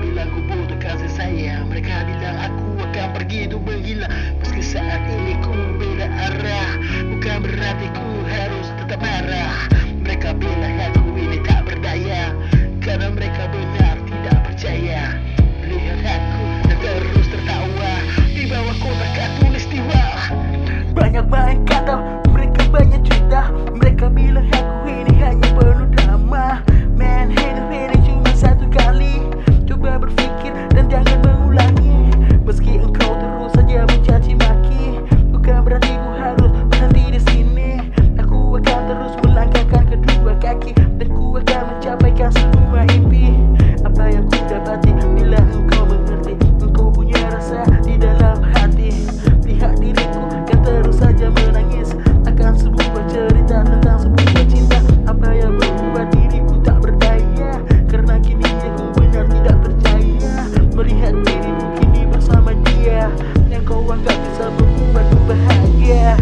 bilang ku butuh kasih sayang, mereka bilang aku akan pergi untuk menghilang. Meski saat ini ku beda arah, bukan berarti ku harus tetap marah. Mereka bilang aku ini tak berdaya, karena mereka benar tidak percaya. Lihat aku dan terus tertawa di bawah kotak katulistiwa. Banyak main kata, mereka banyak cerita. Mereka bilang aku ini hanya penuh drama. Man, hidup ini cuma satu kali. Coba berpikir dan jangan mengulangi. Meski engkau terus saja mencaci maki, bukan berarti ku harus berhenti di sini. Aku akan terus melangkahkan kedua kaki, dan ku akan mencapaikan semua impi. Apa yang ku dapati bila engkau mengerti, engkau punya rasa di dalam hati. Lihat diriku yang terus saja menangis akan sebuah cerita tentang sebuah cinta. Apa yang membuat diriku tak berdaya, karena kini aku benar tidak percaya. Melihat diriku kini bersama dia yang kau anggap bisa membuatku bahagia.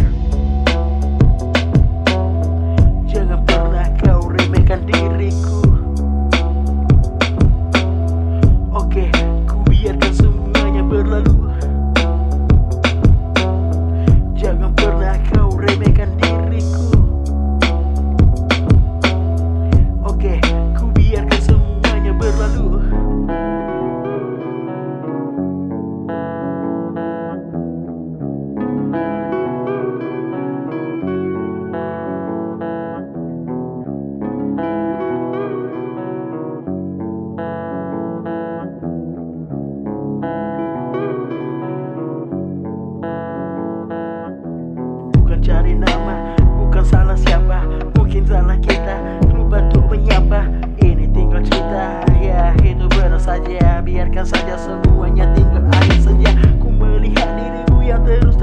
Jangan pernah kau remehkan diriku. Oke, ku biarkan semuanya berlalu. Jangan pernah kau remehkan diriku. Oke, ku biarkan semuanya berlalu. Bukan cari nama, bukan salah siapa, mungkin salah kita lupa untuk menyapa. Ini tinggal cerita, ya itu benar saja. Biarkan saja semuanya tinggal akhir saja. Ku melihat dirimu yang terus